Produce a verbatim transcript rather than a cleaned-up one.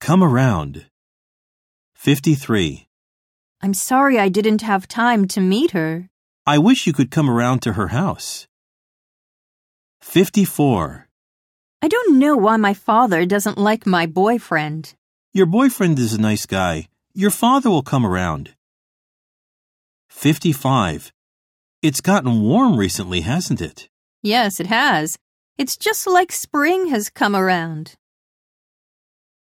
Come around. fifty-three. I'm sorry I didn't have time to meet her. I wish you could come around to her house. fifty-four. I don't know why my father doesn't like my boyfriend. Your boyfriend is a nice guy. Your father will come around. fifty-five. It's gotten warm recently, hasn't it? Yes, it has. It's just like spring has come around.